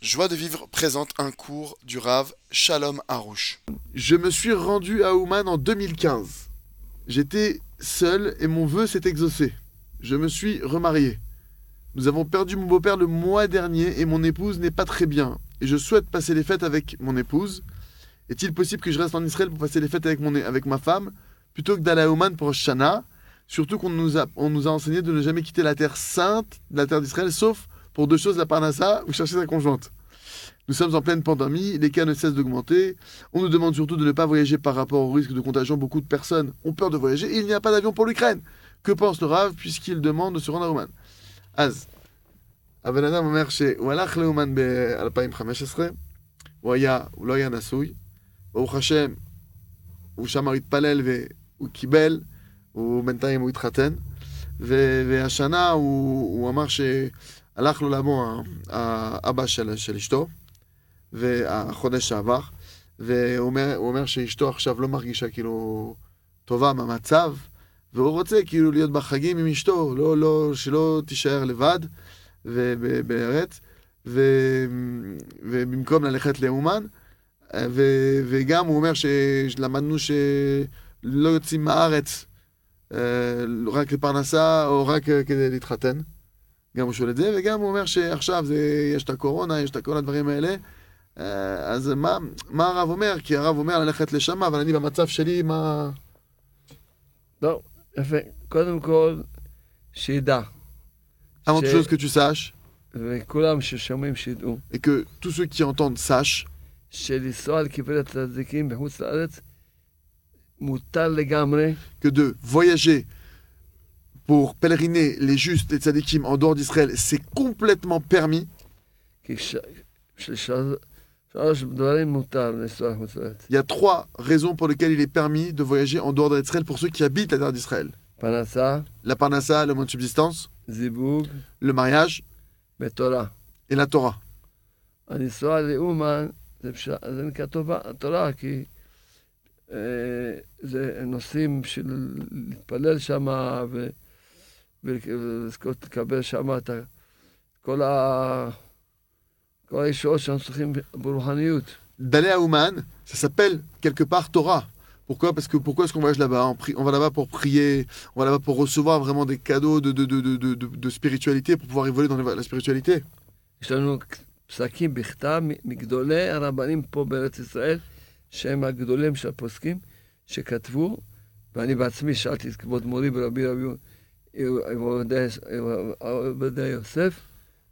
Joie de vivre présente un cours du Rav Shalom Harouche. Je me suis rendu à Ouman en 2015. J'étais seul et mon vœu s'est exaucé. Je me suis remarié. Nous avons perdu mon beau-père le mois dernier et mon épouse n'est pas très bien. Et je souhaite passer les fêtes avec mon épouse. Est-il possible que je reste en Israël pour passer les fêtes avec ma femme plutôt que d'aller à Ouman pour Shana? Surtout qu'on nous a enseigné de ne jamais quitter la terre sainte, la terre d'Israël, sauf pour deux choses, la parnassa ou chercher sa conjointe. Nous sommes en pleine pandémie, les cas ne cessent d'augmenter. On nous demande surtout de ne pas voyager par rapport au risque de contagion. Beaucoup de personnes ont peur de voyager et il n'y a pas d'avion pour l'Ukraine. Que pense le Rav puisqu'il demande de se rendre à Ouman? אז, הבן אדם אומר שהוא הלך לאומן ב-2015, הוא לא היה נשוי, ברוך השם, הוא שם התפלל והוא קיבל, בינתיים הוא התחתן, והשנה הוא אמר שהלך לו לבוא האבא של אשתו, והחודש שעבר, והוא אומר שאשתו עכשיו לא מרגישה כאילו טובה מהמצב, והוא רוצה כאילו להיות בחגים עם אשתו, שלא תישאר לבד בארץ, ובמקום ללכת לאומן, וגם הוא אומר שלמדנו שלא יוצאים מהארץ רק לפרנסה או רק כדי להתחתן, גם הוא שואל את זה, וגם הוא אומר שעכשיו יש את הקורונה, יש את כל הדברים האלה, אז מה הרב אומר? כי הרב אומר ללכת לשם, אבל אני במצב שלי, מה... לא, יפה. קודם כל, שידע. Avant toute chose que tu saches, וכולם ששומעים שידעו. et que tous ceux qui entendent sachent, שלנסוע לקברי הצדיקים בחוץ לארץ, מותר לגמרי. que de voyager pour pèleriner les justes, les tzadikim en dehors d'Israël, c'est complètement permis. כי שלוש דברים מותר לנסוע לחוץ לארץ. Il y a trois raisons pour lesquelles il est permis de voyager en dehors d'Israël pour ceux qui habitent la terre d'Israël. פרנסה, La parnassa, le moyen de subsistance, זיווג le mariage ותורה. et la Torah. הנסוע לאומן, זה נקרא תורה, כי זה נושאים של להתפלל שם ולזכות לקבל שם את כל הישועות שאנחנו צריכים ברוחניות. D'aller à Ouman, ça s'appelle quelque part Torah. Pourquoi? Parce que pourquoi est-ce qu'on voyage là-bas? On va là-bas pour prier, on va là-bas pour recevoir vraiment des cadeaux de spiritualité, pour pouvoir évoluer dans la spiritualité. יש לנו פסקים בכתב מגדולי הרבנים פה בארץ ישראל, שהם הגדולים של הפוסקים, שכתבו, ואני בעצמי שאלתי את כבוד מורי ברבי עובדיה יוסף,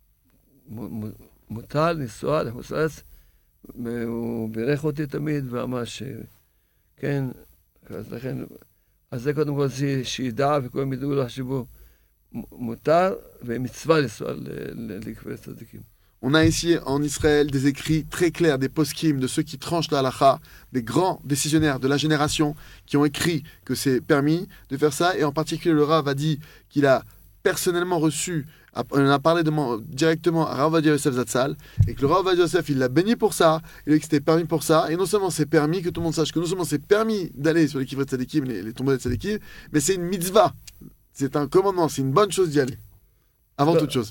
מותר לנסוע לחוץ לארץ, הוא בירך אותי תמיד ואמר שכן, אז זה קודם כל שידע וכולם ידעו לחשבו, מותר ומצווה לנסוע לקברי צדיקים. On a ici en Israël des écrits très clairs, des poskim, de ceux qui tranchent la halakha, des grands décisionnaires de la génération qui ont écrit que c'est permis de faire ça. Et en particulier, le Rav a dit qu'il a personnellement reçu, on en a parlé directement à Rav Ovadia Yosef Zatzal, et que le Rav Ovadia Yosef, il l'a béni pour ça, il a dit que c'était permis pour ça. Et non seulement c'est permis, que tout le monde sache que non seulement c'est permis d'aller sur les kivrei tzadikim, les tombeaux des tzadikim, mais c'est une mitzvah. C'est un commandement, c'est une bonne chose d'y aller. Avant toute chose.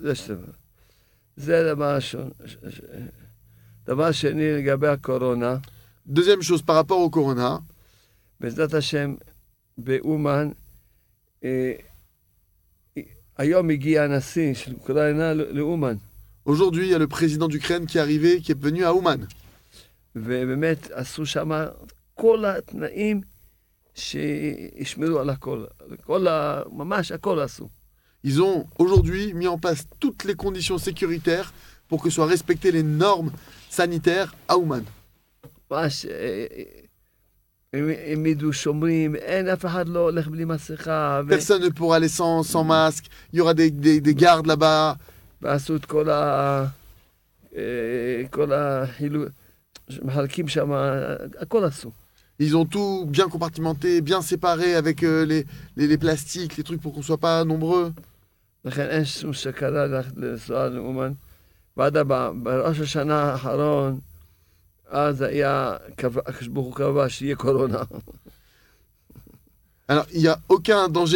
זה דבר ראשון. דבר שני, לגבי הקורונה. Deuxième chose, par rapport au corona, בעזרת השם, באומן, היום הגיע הנשיא של אוקראינה לאומן. aujourd'hui, il y a le président d'Ukraine qui est arrivé, qui est venu à Ouman. ובאמת עשו שם כל התנאים שישמרו על הכל. ממש הכל עשו. Ils ont aujourd'hui mis en place toutes les conditions sécuritaires pour que soient respectées les normes sanitaires à Ouman. ממש, הם ידעו שומרים, אין אף אחד לא הולך בלי מסכה. Personne ne pourra aller sans masque, il y aura des gardes là-bas. ועשו את כל החילוק, מחלקים שם, הכל עשו. Ils ont tout bien compartimenté, bien séparé avec les plastiques, les trucs pour qu'on ne soit pas nombreux. לכן אין שום סכנה לנסוע לאומן. בראש השנה האחרון, אז היה, הקדוש ברוך הוא קבע שיהיה קורונה. Alors, il n'y a aucun danger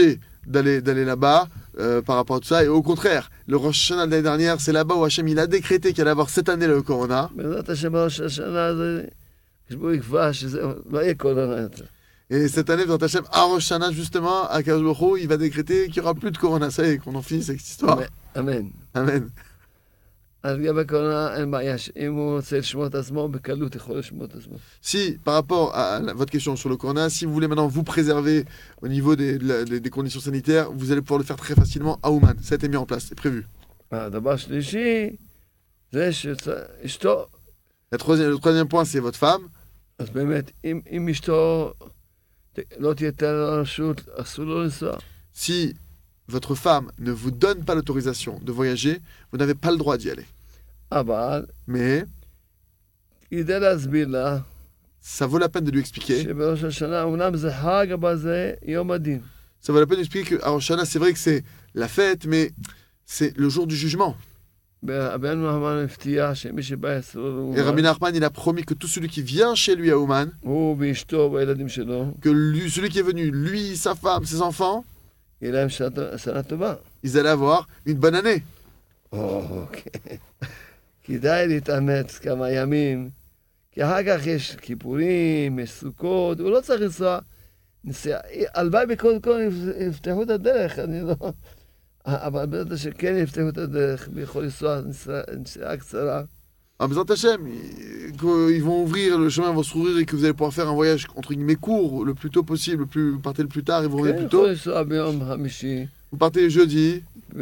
d'aller là-bas par rapport à tout ça. Et au contraire, le Rosh Hashanah de l'année dernière, c'est là-bas où Hachem il a décrété qu'il allait avoir cette année le Corona. בעזרת השם ראש השנה זה, כשבו יקבע שזה לא יהיה קורונה יותר. Et cette année, dans Hachem, à Rosh Hashanah, justement, à Kadosh Baruch Hu, il va décréter qu'il n'y aura plus de Corona. Ça y est, qu'on en finisse avec cette histoire. אמן. Amen. אז לגבי קורונה אין בעיה, אם הוא רוצה לשמור את עצמו, בקלות יכול לשמור את עצמו. Si, par rapport à votre question sur le Corona, si vous voulez maintenant vous préserver au niveau des conditions sanitaires, vous allez pouvoir le faire très facilement à Ouman. Ça a été mis en place, c'est prévu. הדבר שלישי, זה שאשתו, Le troisième point, c'est votre femme. אז באמת, אם אשתו לא תיתן לו רשות, אסור לו לנסוע. Si votre femme ne vous donne pas l'autorisation de voyager, vous n'avez pas le droit d'y aller. אבל, Mais כדי להסביר לה, ça vaut la peine de lui expliquer. שבראש השנה, אומנם זה חג, אבל זה יום הדין. Ça vaut la peine d'expliquer qu'à Rosh Hashanah, c'est vrai que c'est la fête, mais c'est le jour du jugement. רבנו נחמן הבטיח שמי שבא אצלו Et Rabbi לאומן, Nachman, il a promis que tout celui qui vient chez lui à Ouman, הוא ואשתו והילדים שלו, que celui qui est venu, lui, sa femme, ses enfants, יהיה להם שנה טובה. ils allaient avoir une bonne année. אוקיי. כדאי להתאמץ כמה ימים, כי אחר כך יש כיפורים, יש סוכות, הוא לא צריך לנסוע. הלוואי בכל יפתחו את הדרך, אני לא... אבל בטח שכן יפתחו את הדרך, ויכול לנסוע נסיעה קצרה. Ah, Bezrat Hashem, ils vont ouvrir, le chemin va s'ouvrir et que vous allez pouvoir faire un voyage entre guillemets court, le plus tôt possible, vous partez le plus tard et vous revenez כן, plus tôt. יכול לנסוע ביום חמישי, Vous partez jeudi,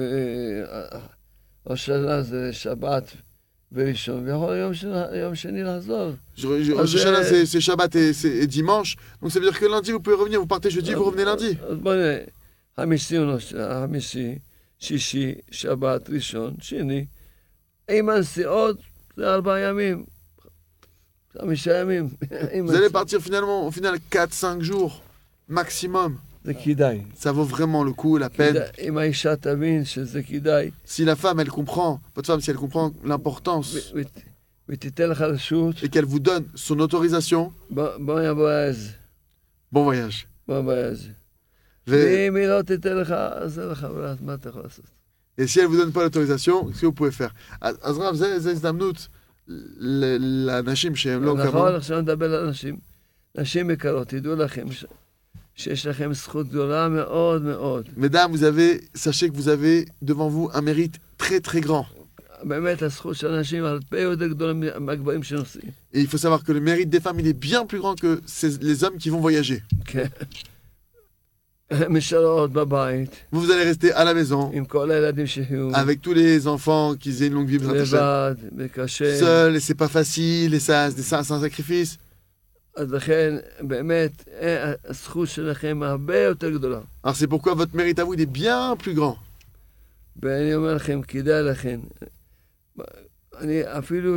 וראש השנה זה שבת וראשון, ויכול יום שני לחזור. Rosh Hashanah, c'est Shabbat et dimanche, donc ça veut dire que lundi vous pouvez revenir, vous partez jeudi, vous revenez lundi. אז בוא נראה, חמישי, שישי, שבת, ראשון, שני, עם הנסיעות זה 4 ימים, 5 ימים. Vous allez partir finalement, au final, 4-5 jours maximum. זה כדאי. Ça vaut vraiment le coup, la peine. אם האישה תבין שזה כדאי, Si la femme, elle comprend, votre femme, si elle comprend l'importance ותיתן לך רשות, et qu'elle vous donne son autorisation, בוא יבוא איזה, bon voyage. בוא יבוא איזה. Et ואם היא לא תיתן לך, אז זה לך, מה אתה יכול לעשות? si elle vous donne pas l'autorisation, qu'est-ce que vous pouvez faire? Azrav, זה הזדמנות לאנשים שהם לא נכון, כמוהו. עכשיו נדבר על נשים. נשים יקרות, תדעו לכם שיש לכם זכות גדולה מאוד מאוד. Mesdames, sachez que vous avez devant vous un mérite très très grand. באמת הזכות של הנשים הרבה יותר גדולה מהגברים שנוסעים. Et il faut savoir que le mérite des femmes, il est bien plus grand que les hommes qui vont voyager. כן. הן נשארות בבית, Vous allez rester à la maison עם כל הילדים שיחיו, avec tous les enfants qui aient une longue vie, לבד, וקשה. seul, et c'est pas facile, et c'est un sacrifice. אז לכן, באמת, הזכות שלכם הרבה יותר גדולה. Alors c'est pourquoi votre mérite à vous, il est bien plus grand. ואני אומר לכם, כדאי לכם. אני אפילו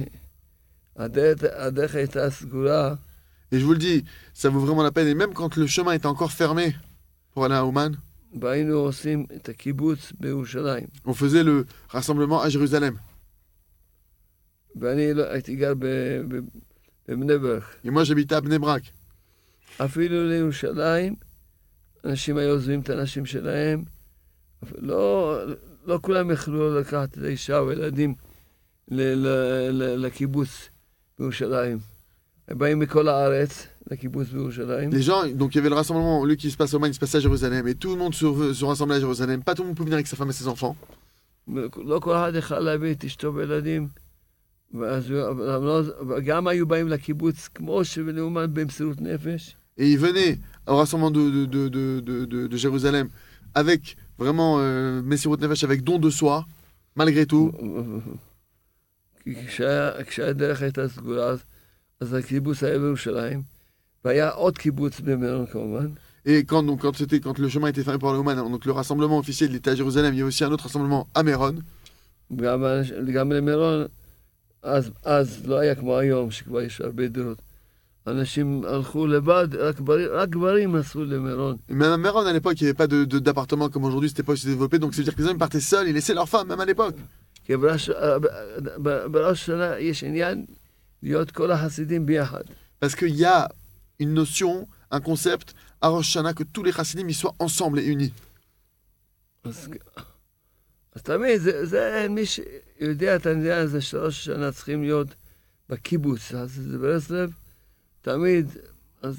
שהדרך הייתה סגורה, Et je vous le dis, ça vaut vraiment la peine. Et même quand le chemin était encore fermé pour aller à Ouman, והיינו עושים את הקיבוץ בירושלים. on faisait le rassemblement à Jérusalem. ואני הייתי גר בבני ברק. Et moi, j'habitais à Bnei Brak. אפילו לירושלים, אנשים היו עוזבים את האנשים שלהם. לא כולם יכלו לקחת את האישה וילדים לקיבוץ בירושלים. הם באים מכל הארץ לקיבוץ בירושלים. Les gens, donc il y avait le rassemblement, lui qui se passe à Ouman, il se passait à Jérusalem. Et tout le monde se rassemblait à Jérusalem. Pas tout le monde peut venir avec sa femme et ses enfants. לא כל אחד יכל להביא את אשתו וילדים. וגם היו באים לקיבוץ כמו שבלאומן במסירות נפש. Et ils venaient au rassemblement de Jérusalem avec vraiment Messirut Nefesh, avec don de soi, malgré tout. כי כשהדרך הייתה סגורה, אז הקיבוץ היה בירושלים, והיה עוד קיבוץ במירון כמובן. Et quand le chemin était fermé par le Ouman, donc le rassemblement officiel était à Jérusalem, il y a aussi un autre rassemblement à Méron. גם למירון, אז לא היה כמו היום, שכבר יש הרבה דירות. אנשים הלכו לבד, רק גברים נסעו למירון. Même à Méron, à l'époque, il n'y avait pas d'appartement comme aujourd'hui, c'était pas aussi développé, donc ça veut dire que les hommes partaient seuls, ils laissaient leurs femmes, même à l'époque. כי בראש השנה יש עניין להיות כל החסידים ביחד. Parce qu'il y a une notion un concept à Rosh Hashanah, que tous les chassidim y soient ensemble et unis. אז תמיד, מי שיודע את העניין הזה של ראש השנה צריכים להיות בקיבוץ, אז זה ברסלב, תמיד, אז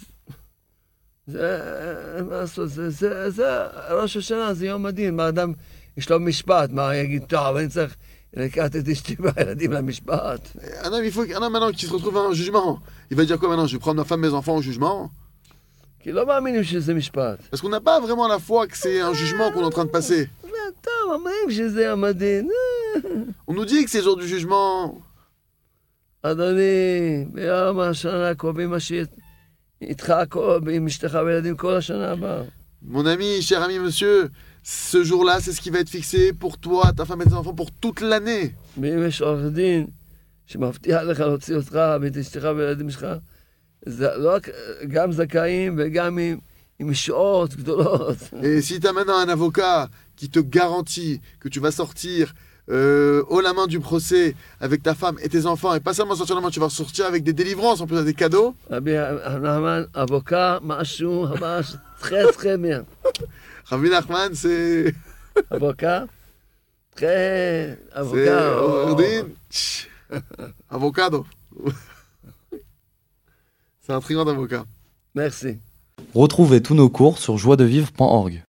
זה, מה לעשות, זה ראש השנה, זה יום הדין, מה אדם, יש לו משפט, מה יגיד, טוב, אני צריך לקחת את אשתי והילדים למשפט. Un homme, un homme maintenant qui se retrouve à un jugement, il va dire quoi maintenant? Je vais prendre ma femme, mes enfants au jugement? כי לא מאמינים שזה משפט. Parce qu'on n'a pas vraiment la foi que c'est un jugement qu'on est en train de passer. טוב, אומרים שזה יום הדין. On nous dit que c'est le jour du jugement. אדוני, ביום השנה הקרובים איתך עם אשתך וילדים כל השנה הבאה. Mon ami, cher ami, monsieur, ce jour-là, c'est ce qui va être fixé pour toi, ta femme et tes enfants pour toute l'année. ואם יש עורך דין שמבטיח לך להוציא אותך ואת אשתך וילדים שלך, זה לא רק גם זכאים וגם עם שעות גדולות. Et si tu as maintenant un avocat qui te garantit que tu vas sortir haut la main du procès avec ta femme et tes enfants, et pas seulement sortir la main, tu vas sortir avec des délivrances, en plus avec des cadeaux. רבי נחמן, avocat, משהו ממש très bien. Rabbi Nachman, c'est... avocat, très... C'est avocat. Ordine. Avocado. C'est un très grand avocat. Merci. Retrouvez tous nos cours sur joiedevivre.org.